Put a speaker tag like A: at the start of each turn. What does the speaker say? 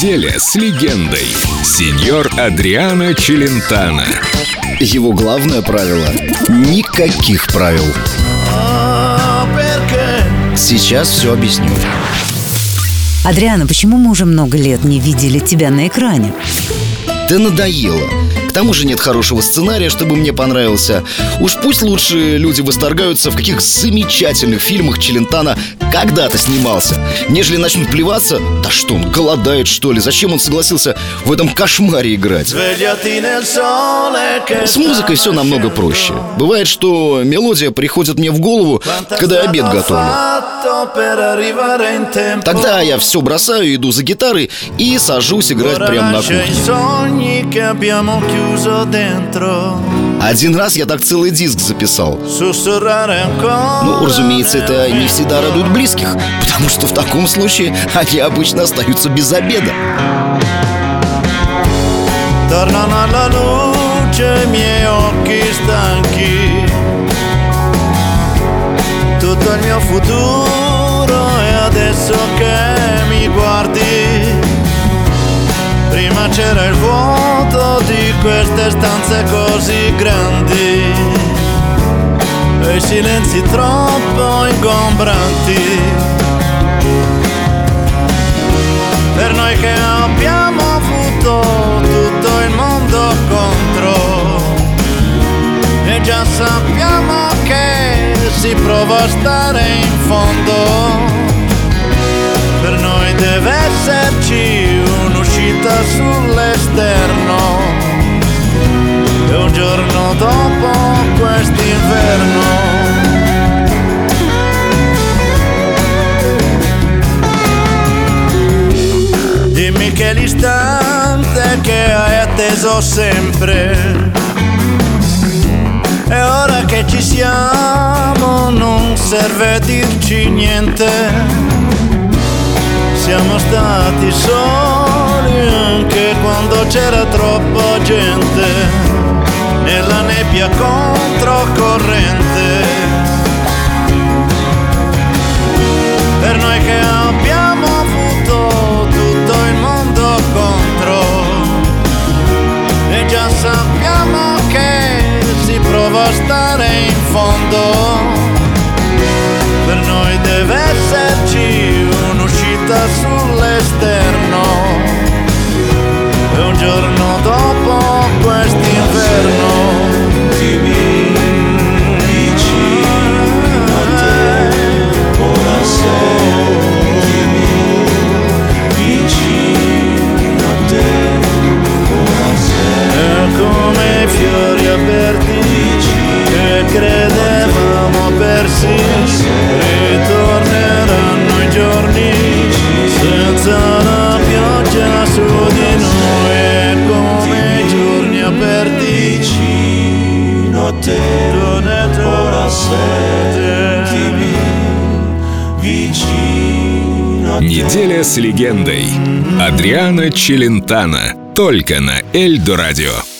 A: Неделя с легендой. Сеньор Адриано Челентано.
B: Его главное правило – никаких правил. Сейчас все объясню.
C: Адриано, почему мы уже много лет не видели тебя на экране?
B: Да надоело. К тому же нет хорошего сценария, чтобы мне понравился. Уж пусть лучше люди восторгаются, в каких замечательных фильмах Челентано когда-то снимался, нежели начнут плеваться. Да что он, голодает что ли? Зачем он согласился в этом кошмаре играть? С музыкой все намного проще. Бывает, что мелодия приходит мне в голову, когда я обед готовлю. Тогда я все бросаю, иду за гитарой и сажусь играть прямо на кухне. Один раз я так целый диск записал. Ну, разумеется, это не всегда радует близких, потому что в таком случае они обычно остаются без обеда.
D: Prima c'era il vuoto di queste stanze così grandi e i silenzi troppo ingombranti. Per noi che abbiamo avuto tutto il mondo contro e già sappiamo che si prova a stare in fondo. Per noi deve esserci un'uscita sull'esterno e un giorno dopo quest'inverno. Dimmi che l'istante che hai atteso sempre e ora che ci siamo non serve dirci niente. Siamo stati soli anche quando c'era troppa gente, nella nebbia controcorrente. Per noi che abbiamo avuto tutto il mondo contro e già sappiamo che si prova a stare in fondo. Per noi deve esserci un'uscita sull'esterno e un giorno dopo quest'inverno. Dimmi vicino a te, ora sei. Dimmi vicino a te, ora sei. E come i fiori aperti che credevamo persi, ritorneranno i giorni senza la pioggia su di noi. E come i giorni aperti vicino a te, ora sentimi vicino a te.
A: Неделя с легендой. Адриано Челентано. Только на Эльдо Радио.